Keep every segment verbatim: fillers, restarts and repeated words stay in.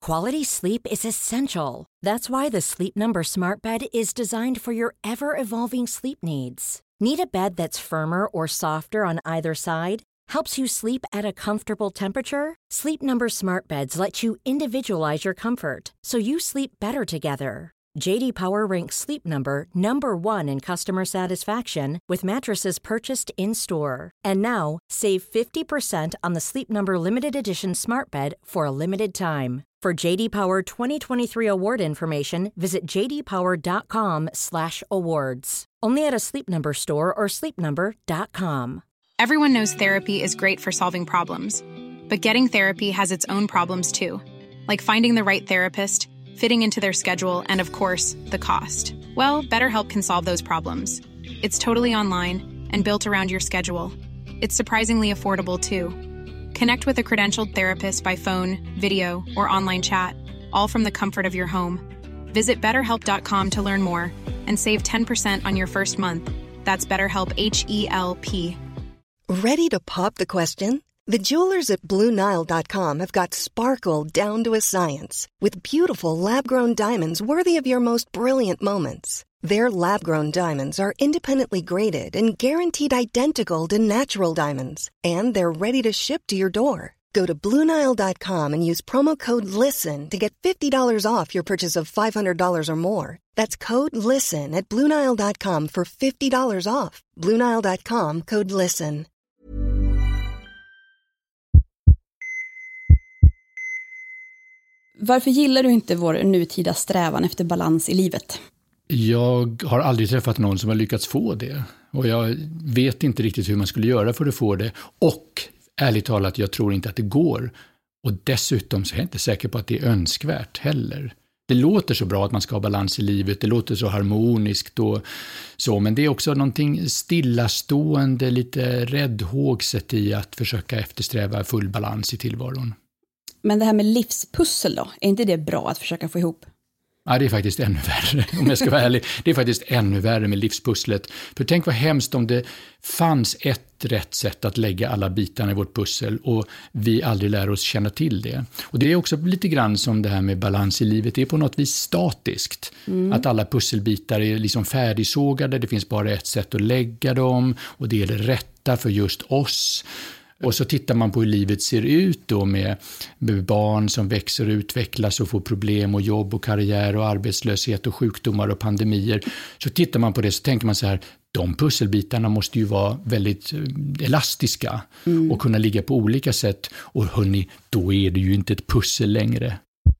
Quality sleep is essential. That's why the Sleep Number Smart Bed is designed for your ever-evolving sleep needs. Need a bed that's firmer or softer on either side? Helps you sleep at a comfortable temperature? Sleep Number Smart Beds let you individualize your comfort, so you sleep better together. J D Power ranks Sleep Number number one in customer satisfaction with mattresses purchased in-store. And now, save fifty percent on the Sleep Number Limited Edition Smart Bed for a limited time. For J D Power twenty twenty-three award information, visit j d power dot com slash awards. Only at a Sleep Number store or sleep number dot com. Everyone knows therapy is great for solving problems, but getting therapy has its own problems too, like finding the right therapist, fitting into their schedule, and of course, the cost. Well, BetterHelp can solve those problems. It's totally online and built around your schedule. It's surprisingly affordable too. Connect with a credentialed therapist by phone, video, or online chat, all from the comfort of your home. Visit better help dot com to learn more and save ten percent on your first month. That's BetterHelp, H E L P. Ready to pop the question? The jewelers at Blue Nile dot com have got sparkle down to a science with beautiful lab-grown diamonds worthy of your most brilliant moments. Their lab-grown diamonds are independently graded and guaranteed identical to natural diamonds, and they're ready to ship to your door. Go to Blue Nile dot com and use promo code LISTEN to get fifty dollars off your purchase of five hundred dollars or more. That's code LISTEN at Blue Nile dot com for fifty dollars off. Blue Nile dot com, code LISTEN. Varför gillar du inte vår nutida strävan efter balans i livet? Jag har aldrig träffat någon som har lyckats få det. Och jag vet inte riktigt hur man skulle göra för att få det. Och ärligt talat, jag tror inte att det går. Och dessutom så är jag inte säker på att det är önskvärt heller. Det låter så bra att man ska ha balans i livet. Det låter så harmoniskt och så. Men det är också någonting stillastående, lite räddhågset i att försöka eftersträva full balans i tillvaron. Men det här med livspussel då, är inte det bra att försöka få ihop? Ja, det är faktiskt ännu värre, om jag ska vara ärlig. Det är faktiskt ännu värre med livspusslet. För tänk vad hemskt om det fanns ett rätt sätt att lägga alla bitarna i vårt pussel och vi aldrig lär oss känna till det. Och det är också lite grann som det här med balans i livet. Det är på något vis statiskt. Mm. Att alla pusselbitar är liksom färdigsågade, det finns bara ett sätt att lägga dem och det är det rätta för just oss. Och så tittar man på hur livet ser ut då med, med barn som växer och utvecklas och får problem och jobb och karriär och arbetslöshet och sjukdomar och pandemier. Så tittar man på det så tänker man så här, de pusselbitarna måste ju vara väldigt elastiska mm. och kunna ligga på olika sätt. Och hörni, då är det ju inte ett pussel längre.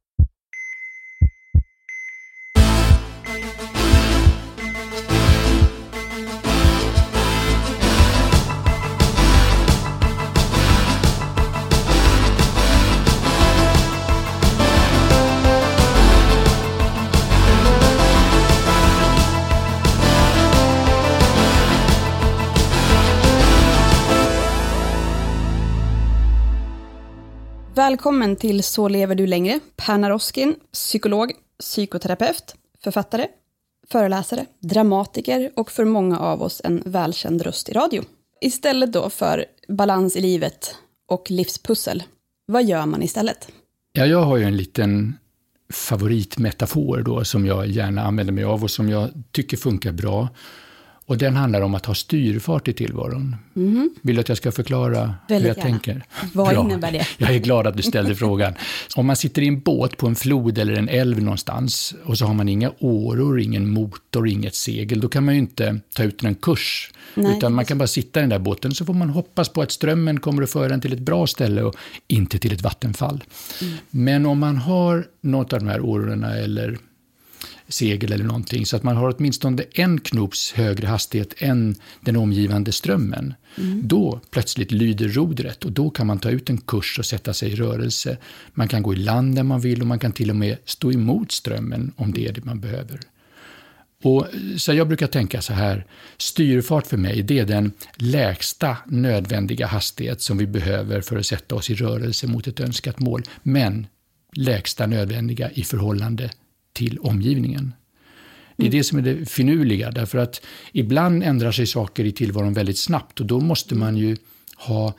Välkommen till Så lever du längre. Per Naroskin, psykolog, psykoterapeut, författare, föreläsare, dramatiker och för många av oss en välkänd röst i radio. Istället då för balans i livet och livspussel, vad gör man istället? Ja, jag har ju en liten favoritmetafor då som jag gärna använder mig av och som jag tycker funkar bra. Och den handlar om att ha styrfart i tillvaron. Mm. Vill du att jag ska förklara Väldigt hur jag gärna. tänker? Vad Bra. innebär det? Jag är glad att du ställde frågan. Om man sitter i en båt på en flod eller en älv någonstans och så har man inga åror, ingen motor, inget segel, då kan man ju inte ta ut en kurs. Nej, utan man kan bara sitta i den där båten så får man hoppas på att strömmen kommer att föra en till ett bra ställe och inte till ett vattenfall. Mm. Men om man har något av de här årorna eller segel eller någonting så att man har åtminstone en knops högre hastighet än den omgivande strömmen. Mm. Då plötsligt lyder rodret och då kan man ta ut en kurs och sätta sig i rörelse. Man kan gå i land där man vill och man kan till och med stå emot strömmen om det är det man behöver. Och så jag brukar tänka så här, styrfart för mig det är den lägsta nödvändiga hastighet som vi behöver för att sätta oss i rörelse mot ett önskat mål, men lägsta nödvändiga i förhållande till omgivningen. Det är det som är det finurliga, därför att ibland ändrar sig saker i tillvaron väldigt snabbt och då måste man ju ha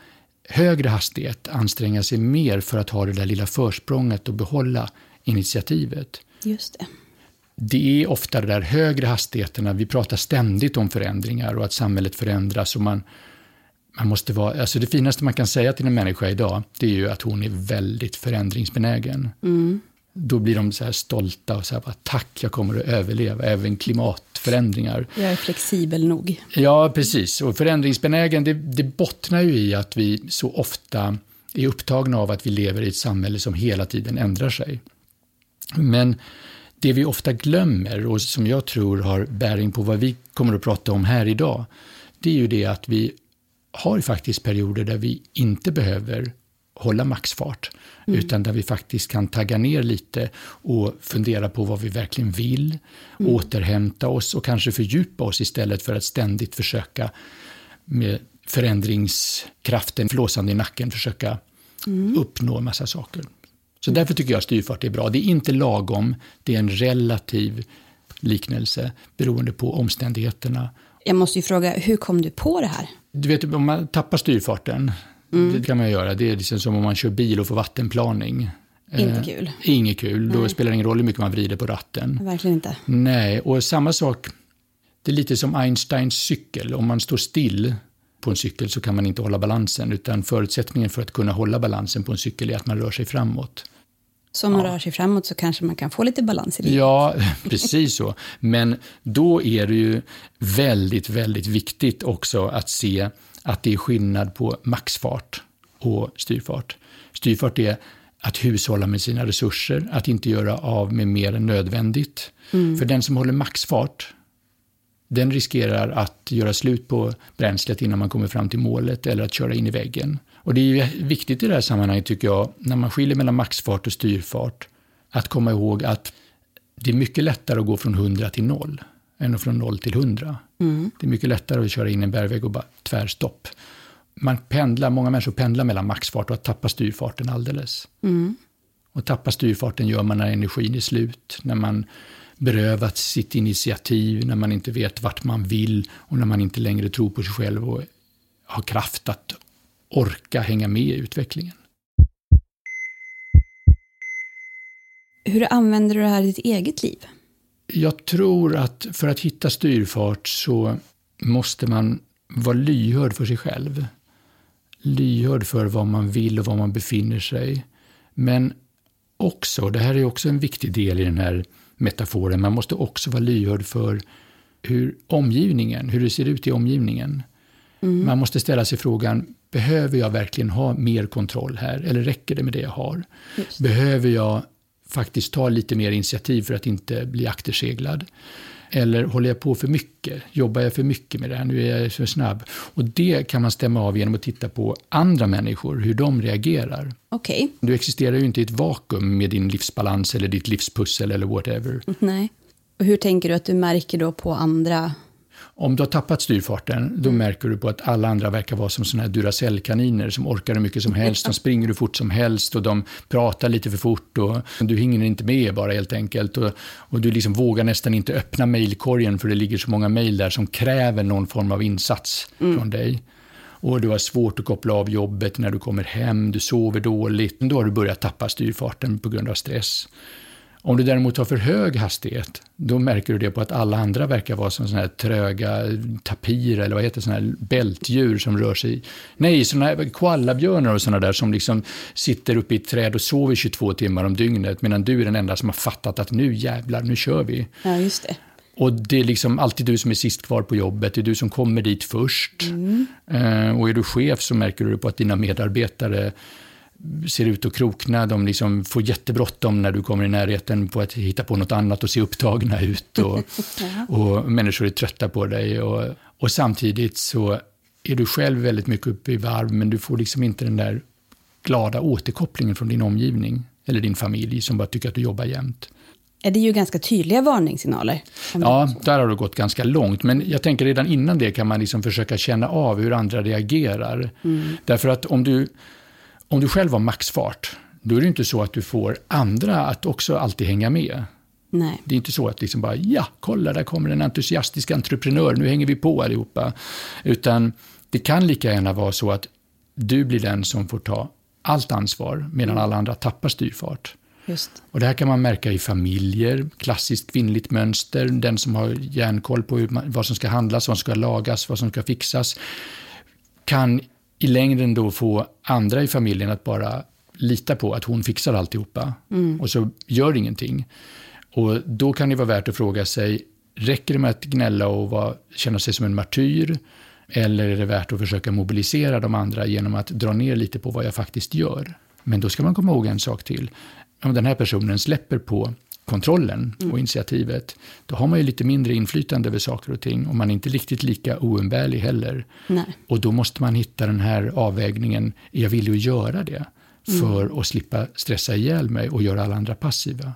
högre hastighet anstränga sig mer för att ha det där lilla försprånget och behålla initiativet. Just det. Det är ofta de där högre hastigheterna, vi pratar ständigt om förändringar och att samhället förändras och man, man måste vara, alltså det finaste man kan säga till en människa idag, det är ju att hon är väldigt förändringsbenägen. Mm. Då blir de så här stolta och så här, bara, tack, jag kommer att överleva även klimatförändringar. Jag är flexibel nog. Ja, precis. Och förändringsbenägen, det, det bottnar ju i att vi så ofta är upptagna av att vi lever i ett samhälle som hela tiden ändrar sig. Men det vi ofta glömmer och som jag tror har bäring på vad vi kommer att prata om här idag, det är ju det att vi har faktiskt perioder där vi inte behöver hålla maxfart, mm. utan där vi faktiskt kan tagga ner lite och fundera på vad vi verkligen vill, mm. återhämta oss och kanske fördjupa oss istället för att ständigt försöka med förändringskraften flåsande i nacken försöka mm. uppnå en massa saker. Så mm. därför tycker jag styrfart är bra. Det är inte lagom, det är en relativ liknelse beroende på omständigheterna. Jag måste ju fråga, hur kom du på det här? Du vet, om man tappar styrfarten, mm. det kan man göra. Det är liksom som om man kör bil och får vattenplaning. Inte eh, kul. Inget kul. Nej. Då spelar det ingen roll hur mycket man vrider på ratten. Verkligen inte. Nej, och samma sak, det är lite som Einsteins cykel. Om man står still på en cykel så kan man inte hålla balansen, utan förutsättningen för att kunna hålla balansen på en cykel är att man rör sig framåt. Så om man ja. rör sig framåt så kanske man kan få lite balans i det. Ja, precis så. Men då är det ju väldigt, väldigt viktigt också att se att det är skillnad på maxfart och styrfart. Styrfart är att hushålla med sina resurser, att inte göra av med mer än nödvändigt. Mm. För den som håller maxfart, den riskerar att göra slut på bränslet innan man kommer fram till målet eller att köra in i väggen. Och det är viktigt i det här sammanhanget tycker jag, när man skiljer mellan maxfart och styrfart, att komma ihåg att det är mycket lättare att gå från hundra till noll än från noll till hundra. Mm. Det är mycket lättare att köra in en bergvägg och bara tvärstopp. Man pendlar, många människor pendlar mellan maxfart och att tappa styrfarten alldeles. Mm. Och tappa styrfarten gör man när energin är slut, när man berövat sitt initiativ, när man inte vet vart man vill och när man inte längre tror på sig själv och har kraft att orka hänga med i utvecklingen. Hur använder du det här i ditt eget liv? Jag tror att för att hitta styrfart så måste man vara lyhörd för sig själv. Lyhörd för vad man vill och var man befinner sig. Men också, det här är också en viktig del i den här metaforen, man måste också vara lyhörd för hur omgivningen, hur det ser ut i omgivningen. Mm. Man måste ställa sig frågan, behöver jag verkligen ha mer kontroll här? Eller räcker det med det jag har? Just. Behöver jag faktiskt ta lite mer initiativ för att inte bli akterseglad? Eller håller jag på för mycket? Jobbar jag för mycket med det här? Nu är jag för snabb. Och det kan man stämma av genom att titta på andra människor, hur de reagerar. Okej. Okay. Du existerar ju inte i ett vakuum med din livsbalans eller ditt livspussel eller whatever. Nej. Och hur tänker du att du märker då på andra? Om du har tappat styrfarten, då mm. märker du på att alla andra verkar vara som såna här Duracell-kaniner som orkar hur mycket som helst. De springer hur fort som helst och de pratar lite för fort och du hinner inte med bara helt enkelt. Och, och du liksom vågar nästan inte öppna mejlkorgen för det ligger så många mejl där som kräver någon form av insats mm. från dig. Och du har svårt att koppla av jobbet när du kommer hem, du sover dåligt. Då har du börjat tappa styrfarten på grund av stress. Om du däremot har för hög hastighet, då märker du det på att alla andra verkar vara som såna här tröga tapir eller vad heter såna här bältdjur som rör sig. Nej, såna här koalabjörnar och såna där som liksom sitter uppe i ett träd och sover tjugotvå timmar om dygnet medan du är den enda som har fattat att nu jävlar, nu kör vi. Ja, just det. Och det är liksom alltid du som är sist kvar på jobbet, det är du som kommer dit först. Mm. Uh, och är du chef så märker du på att dina medarbetare ser ut att krokna, de liksom får jättebråttom när du kommer i närheten på att hitta på något annat och se upptagna ut och, ja. och människor är trötta på dig och, och samtidigt så är du själv väldigt mycket uppe i varv men du får liksom inte den där glada återkopplingen från din omgivning eller din familj som bara tycker att du jobbar jämt. Är det ju ganska tydliga varningssignaler? Ja, där har det gått ganska långt. Men jag tänker redan innan det kan man liksom försöka känna av hur andra reagerar. Mm. Därför att om du Om du själv har maxfart, då är det inte så att du får andra att också alltid hänga med. Nej. Det är inte så att liksom bara, ja, kolla, där kommer en entusiastisk entreprenör, nu hänger vi på allihopa. Utan det kan lika gärna vara så att du blir den som får ta allt ansvar medan alla andra tappar styrfart. Just. Och det här kan man märka i familjer, klassiskt kvinnligt mönster, den som har järnkoll på hur man, vad som ska handlas, vad som ska lagas, vad som ska fixas, kan i längden då få andra i familjen att bara lita på att hon fixar alltihopa mm. och så gör ingenting. Och då kan det vara värt att fråga sig, räcker det med att gnälla och vara, känna sig som en martyr, eller är det värt att försöka mobilisera de andra genom att dra ner lite på vad jag faktiskt gör? Men då ska man komma ihåg en sak till. Om den här personen släpper på kontrollen och mm. initiativet, då har man ju lite mindre inflytande över saker och ting och man är inte riktigt lika oumbärlig heller. Nej. Och då måste man hitta den här avvägningen, är jag villig att göra det för mm. att slippa stressa ihjäl mig och göra alla andra passiva?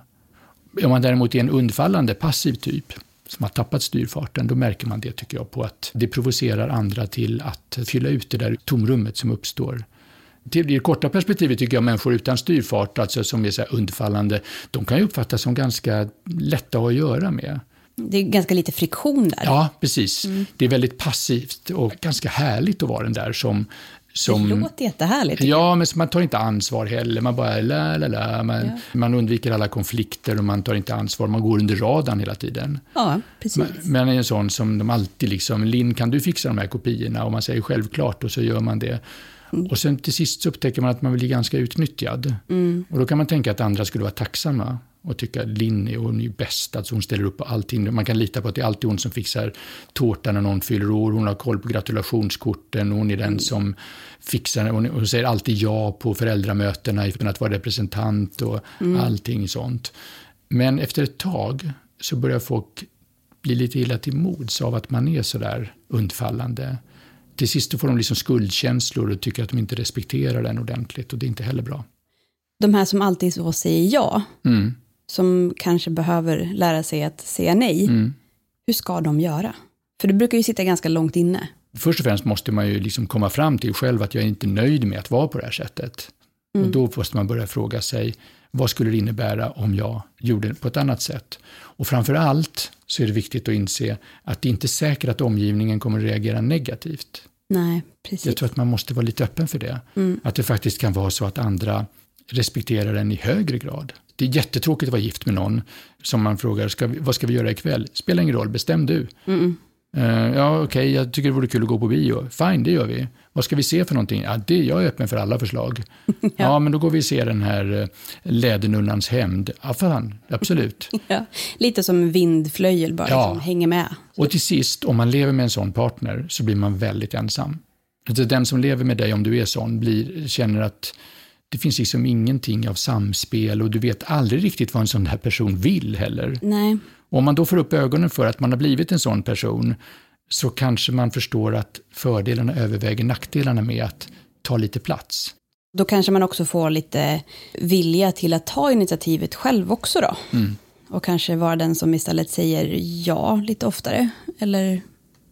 Om man däremot är en undfallande passiv typ som har tappat styrfarten, då märker man det, tycker jag, på att det provocerar andra till att fylla ut det där tomrummet som uppstår. Till det korta perspektivet tycker jag människor utan styrfart, alltså som är så här undfallande, de kan ju uppfattas som ganska lätta att göra med. Det är ganska lite friktion där. Ja, precis. Mm. Det är väldigt passivt och ganska härligt att vara den där som... som det låter jättehärligt. Ja, men man tar inte ansvar heller. Man bara la la la. Man, ja. man undviker alla konflikter och man tar inte ansvar. Man går under radarn hela tiden. Ja, precis. Men, men en sån som de alltid liksom, Linn, kan du fixa de här kopiorna? Och man säger självklart och så gör man det. Mm. Och sen till sist så upptäcker man att man blir ganska utnyttjad. Mm. Och då kan man tänka att andra skulle vara tacksamma och tycka att Linn är hon är bäst, alltså hon ställer upp på allting. Man kan lita på att det är alltid hon som fixar tårtan när någon fyller år. Hon har koll på gratulationskorten. Hon är den mm. som fixar, hon, hon säger alltid ja på föräldramötena utan att vara representant och mm. allting sånt. Men efter ett tag så börjar folk bli lite illa till mods av att man är så där undfallande. Till sist får de liksom skuldkänslor och tycker att de inte respekterar den ordentligt och det är inte heller bra. De här som alltid så säger ja, mm. som kanske behöver lära sig att säga nej, mm. hur ska de göra? För det brukar ju sitta ganska långt inne. Först och främst måste man ju liksom komma fram till själv att jag är inte nöjd med att vara på det här sättet. Mm. Och då måste man börja fråga sig, vad skulle det innebära om jag gjorde det på ett annat sätt? Och framför allt så är det viktigt att inse att det inte är säkert att omgivningen kommer att reagera negativt. Nej, precis. Jag tror att man måste vara lite öppen för det. Mm. Att det faktiskt kan vara så att andra respekterar den i högre grad. Det är jättetråkigt att vara gift med någon som man frågar, ska vi, vad ska vi göra ikväll? Spelar ingen roll, bestäm du. Mm. Uh, ja, okej, okay, jag tycker det vore kul att gå på bio. Fine, det gör vi. Vad ska vi se för någonting? Ja, det, jag är öppen för alla förslag. ja. ja, men då går vi och ser den här uh, Lädernunnans hämnd. Ja, fan, absolut. ja, lite som vindflöjel bara, ja. Som hänger med. Och till sist, om man lever med en sån partner så blir man väldigt ensam. Alltså, den som lever med dig, om du är sån, blir, känner att det finns liksom ingenting av samspel och du vet aldrig riktigt vad en sån här person vill heller. Nej. Och om man då får upp ögonen för att man har blivit en sån person så kanske man förstår att fördelarna överväger nackdelarna med att ta lite plats. Då kanske man också får lite vilja till att ta initiativet själv också då. Mm. Och kanske vara den som istället säger ja lite oftare. Eller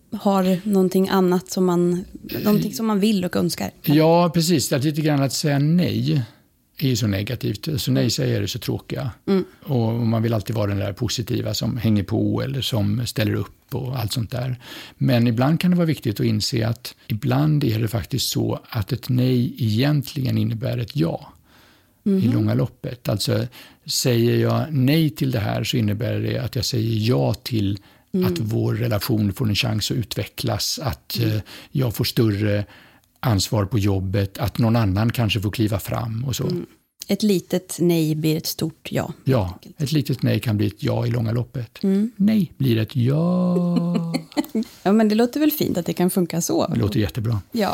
har någonting annat som man, någonting som man vill och önskar. Ja, precis. Att lite grann att säga nej är ju så negativt. Så nej säger är så tråkiga. Mm. Och man vill alltid vara den där positiva som hänger på eller som ställer upp och allt sånt där. Men ibland kan det vara viktigt att inse att ibland är det faktiskt så att ett nej egentligen innebär ett ja. Mm. I långa loppet. Alltså säger jag nej till det här så innebär det att jag säger ja till Mm. att vår relation får en chans att utvecklas, att mm. eh, jag får större ansvar på jobbet, att någon annan kanske får kliva fram och så. Mm. Ett litet nej blir ett stort ja. Ja, ett litet nej kan bli ett ja i långa loppet. Mm. Nej blir ett ja. ja, men det låter väl fint att det kan funka så. Det låter jättebra. Ja.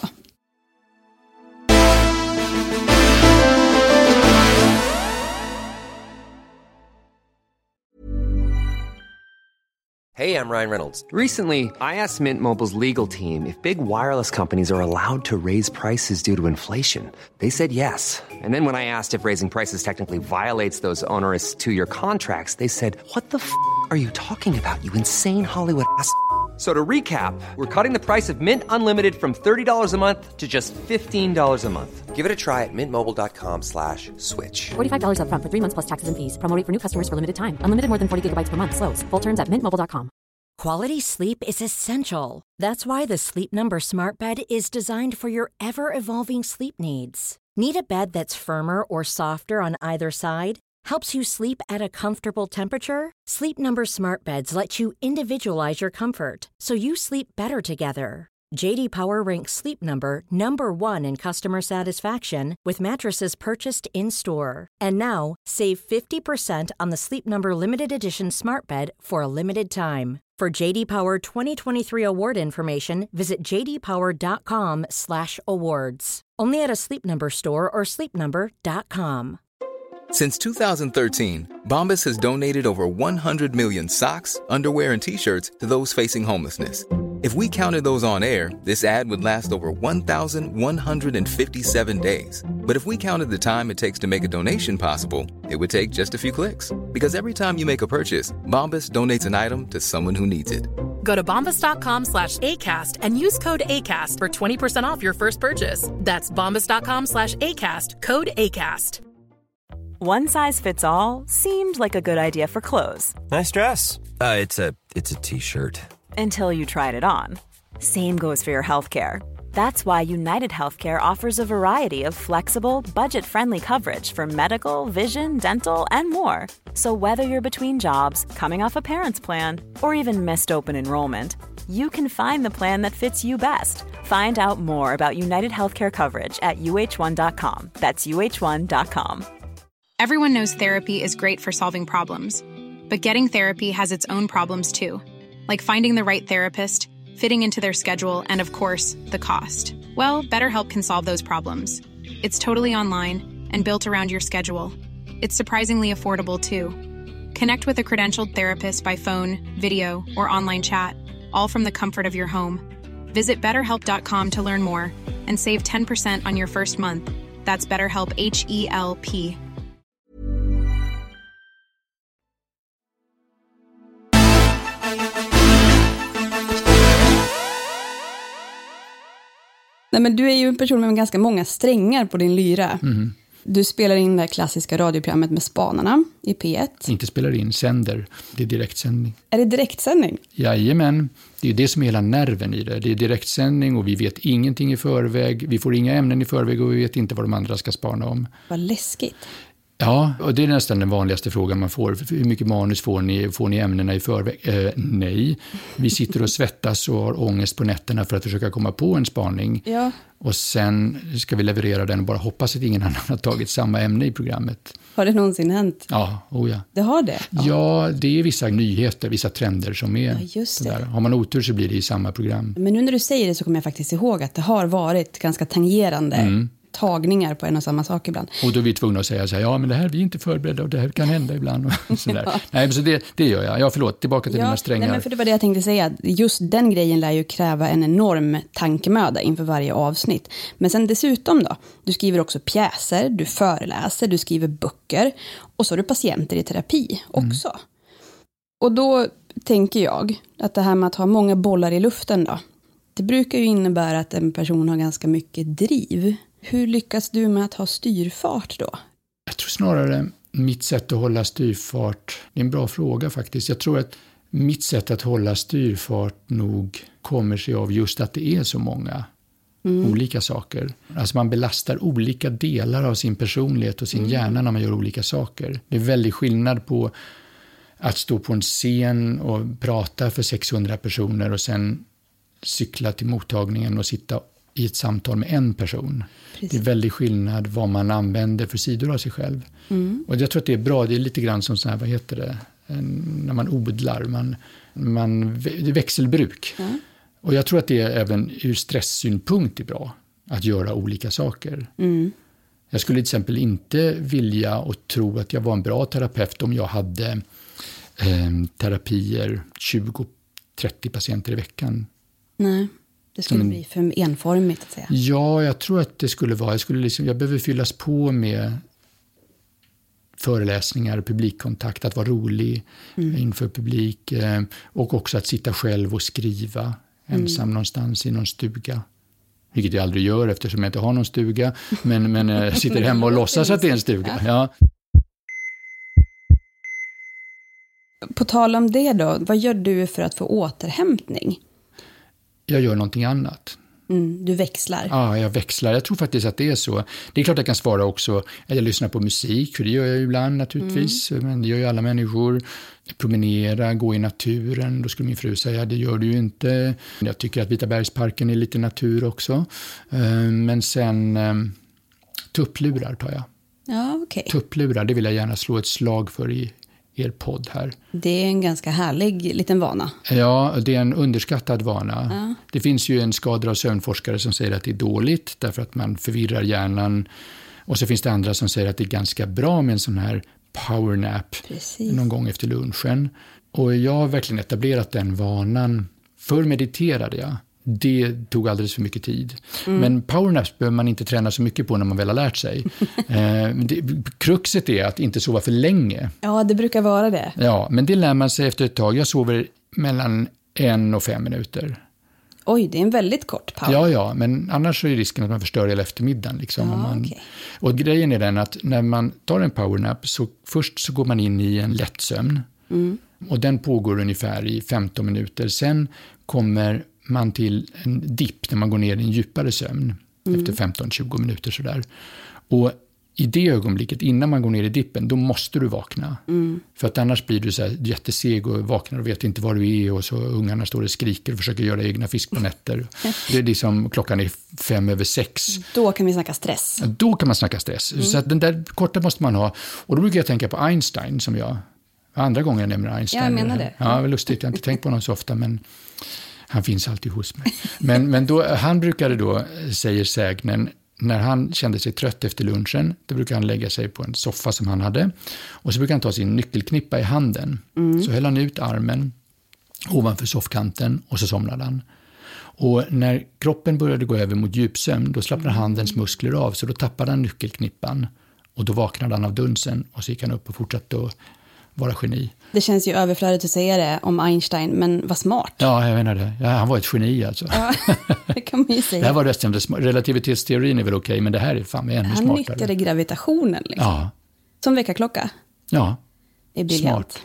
Hey, I'm Ryan Reynolds. Recently, I asked Mint Mobile's legal team if big wireless companies are allowed to raise prices due to inflation. They said yes. And then when I asked if raising prices technically violates those onerous two-year contracts, they said, what the f*** are you talking about, you insane Hollywood ass f- So to recap, we're cutting the price of Mint Unlimited from thirty dollars a month to just fifteen dollars a month. Give it a try at mintmobile.com slash switch. forty-five dollars up front for three months plus taxes and fees. Promo rate for new customers for limited time. Unlimited more than forty gigabytes per month. Slows full terms at mint mobile dot com. Quality sleep is essential. That's why the Sleep Number Smart Bed is designed for your ever-evolving sleep needs. Need a bed that's firmer or softer on either side? Helps you sleep at a comfortable temperature? Sleep Number Smart Beds let you individualize your comfort so you sleep better together. J D Power ranks Sleep Number number one in customer satisfaction with mattresses purchased in-store. And now, save fifty percent on the Sleep Number Limited Edition Smart Bed for a limited time. For J D Power twenty twenty-three award information, visit j d power dot com slash awards. Only at a Sleep Number store or sleep number dot com. Since two thousand thirteen, Bombas has donated over one hundred million socks, underwear, and T-shirts to those facing homelessness. If we counted those on air, this ad would last over one thousand one hundred fifty-seven days. But if we counted the time it takes to make a donation possible, it would take just a few clicks. Because every time you make a purchase, Bombas donates an item to someone who needs it. Go to bombas.com slash ACAST and use code ACAST for twenty percent off your first purchase. That's bombas.com slash ACAST, code ACAST. One size fits all seemed like a good idea for clothes. Nice dress. Uh, it's a it's a t-shirt. Until you tried it on. Same goes for your healthcare. That's why United Healthcare offers a variety of flexible, budget-friendly coverage for medical, vision, dental, and more. So whether you're between jobs, coming off a parent's plan, or even missed open enrollment, you can find the plan that fits you best. Find out more about United Healthcare coverage at u h one dot com. That's u h one dot com. Everyone knows therapy is great for solving problems, but getting therapy has its own problems too, like finding the right therapist, fitting into their schedule, and of course, the cost. Well, BetterHelp can solve those problems. It's totally online and built around your schedule. It's surprisingly affordable too. Connect with a credentialed therapist by phone, video, or online chat, all from the comfort of your home. Visit better help dot com to learn more and save ten percent on your first month. That's BetterHelp, H E L P. Nej, men du är ju en person med ganska många strängar på din lyra. Mm. Du spelar in det klassiska radioprogrammet med Spanarna i P ett. Inte spelar in, sänder. Det är direktsändning. Är det direktsändning? Jajamän. Det är det som är hela nerven i det. Det är direktsändning och vi vet ingenting i förväg. Vi får inga ämnen i förväg och vi vet inte vad de andra ska spana om. Vad läskigt. Ja, och det är nästan den vanligaste frågan man får. Hur mycket manus får ni? Får ni ämnena i förväg? Eh, nej. Vi sitter och svettas och har ångest på nätterna för att försöka komma på en spaning. Ja. Och sen ska vi leverera den och bara hoppas att ingen annan har tagit samma ämne i programmet. Har det någonsin hänt? Ja, oh ja. Det har det? Ja, ja det är vissa nyheter, vissa trender som är ja, just det. Där. Har man otur så blir det i samma program. Men nu när du säger det så kommer jag faktiskt ihåg att det har varit ganska tangerande mm. tagningar på en och samma sak ibland. Och då är vi tvungna att säga så här, ja men det här vi är inte förberedda och det här kan hända ibland. Och så där. ja. Nej, så det, det gör jag. Ja, förlåt, tillbaka till ja, dina strängar. Nej, men för det var det jag tänkte säga. Just den grejen lär ju kräva en enorm tankemöda inför varje avsnitt. Men sen dessutom då, du skriver också pjäser, du föreläser, du skriver böcker och så har du patienter i terapi också. Mm. Och då tänker jag att det här med att ha många bollar i luften då, det brukar ju innebära att en person har ganska mycket driv. Hur lyckas du med att ha styrfart då? Jag tror snarare mitt sätt att hålla styrfart, det är en bra fråga faktiskt. Jag tror att mitt sätt att hålla styrfart nog kommer sig av just att det är så många mm. olika saker. Alltså man belastar olika delar av sin personlighet och sin mm. hjärna när man gör olika saker. Det är väldigt skillnad på att stå på en scen och prata för sexhundra personer och sen cykla till mottagningen och sitta i ett samtal med en person. Precis. Det är väldigt skillnad vad man använder för sidor av sig själv. Mm. Och jag tror att det är bra, det är lite grann som så här, vad heter det, när man odlar, man, man, det är växelbruk. Mm. Och jag tror att det är även ur stresssynpunkt är bra att göra olika saker. Mm. Jag skulle till exempel inte vilja och tro att jag var en bra terapeut om jag hade eh, terapier tjugo till trettio patienter i veckan. Nej. Det skulle en, bli för enformigt att säga. Ja, jag tror att det skulle vara. Jag, skulle liksom, jag behöver fyllas på med föreläsningar, publikkontakt, att vara rolig mm. inför publik. Eh, och också att sitta själv och skriva ensam mm. någonstans i någon stuga. Vilket jag aldrig gör eftersom jag inte har någon stuga. Men, men jag sitter hemma och låtsas att det är en stuga. Ja. På tal om det då, vad gör du för att få återhämtning? Jag gör någonting annat. Mm, du växlar. Ja, jag växlar. Jag tror faktiskt att det är så. Det är klart jag kan svara också att jag lyssnar på musik, för det gör jag ju ibland naturligtvis. Mm. Men det gör ju alla människor. Promenera, gå i naturen. Då skulle min fru säga, det gör du ju inte. Jag tycker att Vitabergsparken är lite natur också. Men sen tupplurar tar jag. Ja, okej. Okay. Tupplurar, det vill jag gärna slå ett slag för i er podd här. Det är en ganska härlig liten vana. Ja, det är en underskattad vana. Ja. Det finns ju en skador- och sömnforskare som säger att det är dåligt därför att man förvirrar hjärnan. Och så finns det andra som säger att det är ganska bra med en sån här powernap någon gång efter lunchen. Och jag har verkligen etablerat den vanan. Förr mediterade jag. Det tog alldeles för mycket tid. Mm. Men powernaps behöver man inte träna så mycket på när man väl har lärt sig. eh, det, kruxet är att inte sova för länge. Ja, det brukar vara det. Ja, men det lär man sig efter ett tag. Jag sover mellan en och fem minuter. Oj, det är en väldigt kort power. Ja, ja, men annars så är risken att man förstör hela eftermiddagen. Liksom, ja, om man... okay. Och grejen är den att när man tar en powernap så först så går man in i en lätt sömn. Mm. Och den pågår ungefär i femton minuter. Sen kommer man till en dipp när man går ner i en djupare sömn mm. efter femton till tjugo minuter sådär. Och i det ögonblicket innan man går ner i dippen, då måste du vakna. Mm. För att annars blir du så här jätteseg och vaknar och vet inte var du är och så ungarna står och skriker och försöker göra egna fisk på nätter. Det är liksom, klockan är fem över sex. Då kan vi snacka stress. Ja, då kan man snacka stress. Mm. Så att den där korta måste man ha. Och då brukar jag tänka på Einstein som jag, andra gången jag nämner Einstein. Ja, jag menar det. Ja, det var lustigt, jag har inte tänkt på honom så ofta, men han finns alltid hos mig. Men, men då, han brukade då, säger sägnen, när han kände sig trött efter lunchen, då brukade han lägga sig på en soffa som han hade. Och så brukade han ta sin nyckelknippa i handen. Mm. Så höll han ut armen ovanför soffkanten och så somnade han. Och när kroppen började gå över mot djupsömn, då slappnade mm. handens muskler av. Så då tappade han nyckelknippan. Och då vaknade han av dunsen och så gick han upp och fortsatte att vara geni. Det känns ju överflödigt att säga det om Einstein, men vad smart. Ja, jag menar det. Ja, han var ett geni alltså. Ja, det kan man ju säga. Det här var resten, relativitetsteorin är väl okej, men det här är fan ännu han smartare. Han nyttjade gravitationen liksom. Ja. Som väckarklocka. Ja, det är briljant.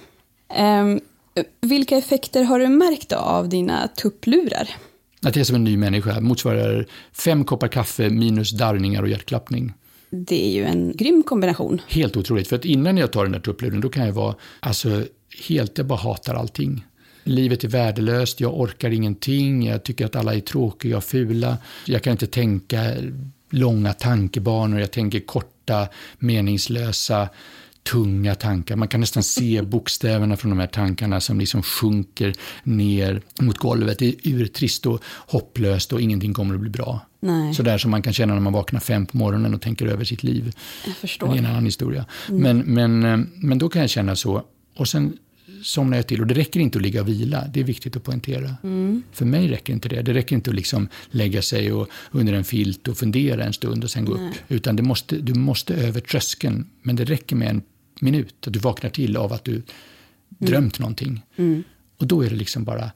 Um, vilka effekter har du märkt av dina tupplurar? Att jag är som en ny människa motsvarar fem koppar kaffe minus darrningar och hjärtklappning. Det är ju en grym kombination. Helt otroligt, för att innan jag tar den där tuppluren då kan jag vara alltså, helt, jag bara hatar allting. Livet är värdelöst, jag orkar ingenting, jag tycker att alla är tråkiga och fula. Jag kan inte tänka långa tankebanor, jag tänker korta, meningslösa, tunga tankar. Man kan nästan se bokstäverna från de här tankarna som liksom sjunker ner mot golvet. Det är urtrist och hopplöst och ingenting kommer att bli bra. Nej. Så där som man kan känna när man vaknar fem på morgonen och tänker över sitt liv. Jag förstår. Det är en annan historia. Mm. Men, men, men då kan jag känna så. Och sen somnar jag till. Och det räcker inte att ligga och vila. Det är viktigt att poängtera. Mm. För mig räcker inte det. Det räcker inte att liksom lägga sig och, under en filt och fundera en stund och sen gå Nej. upp. Utan det måste, du måste över tröskeln. Men det räcker med en minut. Att du vaknar till av att du mm. drömt någonting. Mm. Och då är det liksom bara,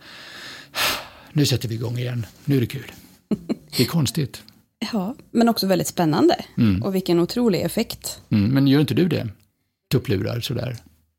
nu sätter vi igång igen. Nu är det kul. Det är konstigt. Ja, men också väldigt spännande. Mm. Och vilken otrolig effekt. Mm, men gör inte du det? Tupplurar sådär?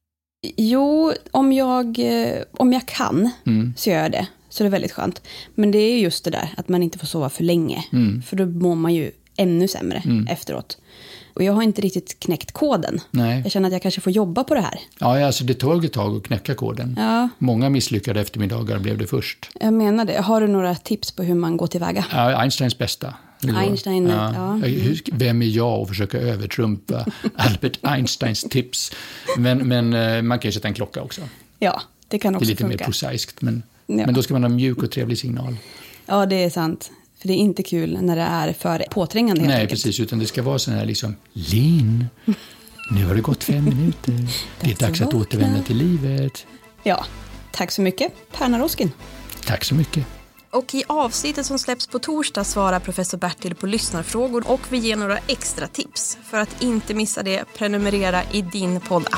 Jo, om jag, om jag kan mm. så gör jag det. Så det är väldigt skönt. Men det är just det där att man inte får sova för länge. Mm. För då mår man ju ännu sämre mm. efteråt. Och jag har inte riktigt knäckt koden. Nej. Jag känner att jag kanske får jobba på det här. Ja, alltså det tog ett tag att knäcka koden. Ja. Många misslyckade eftermiddagar blev det först. Jag menar det. Har du några tips på hur man går tillväga? Ja, Einsteins bästa. Einstein, ja. ja. Vem är jag att försöka övertrumpa Albert Einsteins tips? Men, men man kan ju sätta en klocka också. Ja, det kan också funka. Det är lite funka. Mer prosaiskt, men, ja. men då ska man ha mjuk och trevlig signal. Ja, det är sant. För det är inte kul när det är för påträngande. Nej, enkelt. precis. Utan det ska vara sån här liksom, Lin, nu har det gått fem minuter. Det är dags att återvända till livet. Ja, tack så mycket, Per Naroskin. Tack så mycket. Och i avsnittet som släpps på torsdag svarar professor Bertil på lyssnarfrågor och vi ger några extra tips. För att inte missa det, prenumerera i din poddapp.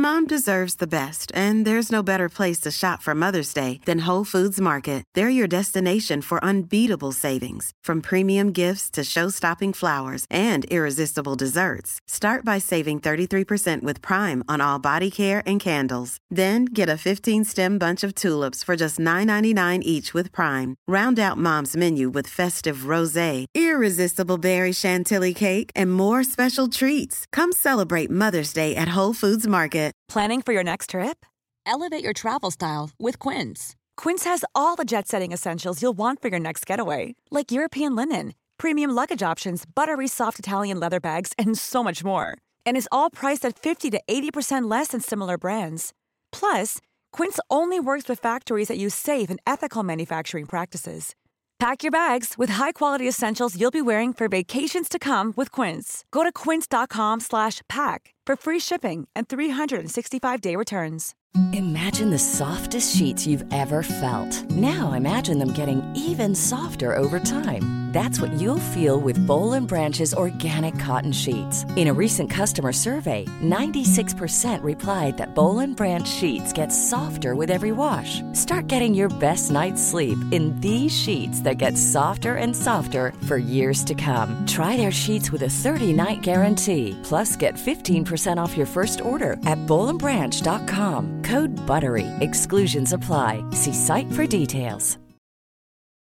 mom deserves the best, and there's no better place to shop for Mother's Day than Whole Foods Market. They're your destination for unbeatable savings, from premium gifts to show-stopping flowers and irresistible desserts. Start by saving thirty-three percent with Prime on all body care and candles. Then get a fifteen-stem bunch of tulips for just nine ninety-nine each with Prime. Round out Mom's menu with festive rosé, irresistible berry chantilly cake, and more special treats. Come celebrate Mother's Day at Whole Foods Market. Planning for your next trip? Elevate your travel style with Quince. Quince has all the jet-setting essentials you'll want for your next getaway, like European linen, premium luggage options, buttery soft Italian leather bags, and so much more. And is all priced at fifty to eighty percent less than similar brands. Plus, Quince only works with factories that use safe and ethical manufacturing practices. Pack your bags with high-quality essentials you'll be wearing for vacations to come with Quince. Go to quince.com slash pack for free shipping and three sixty-five day returns. Imagine the softest sheets you've ever felt. Now imagine them getting even softer over time. That's what you'll feel with Boll and Branch's organic cotton sheets. In a recent customer survey, ninety-six percent replied that Boll and Branch sheets get softer with every wash. Start getting your best night's sleep in these sheets that get softer and softer for years to come. Try their sheets with a thirty-night guarantee. Plus, get fifteen percent off your first order at boll and branch dot com. Code BUTTERY. Exclusions apply. See site for details.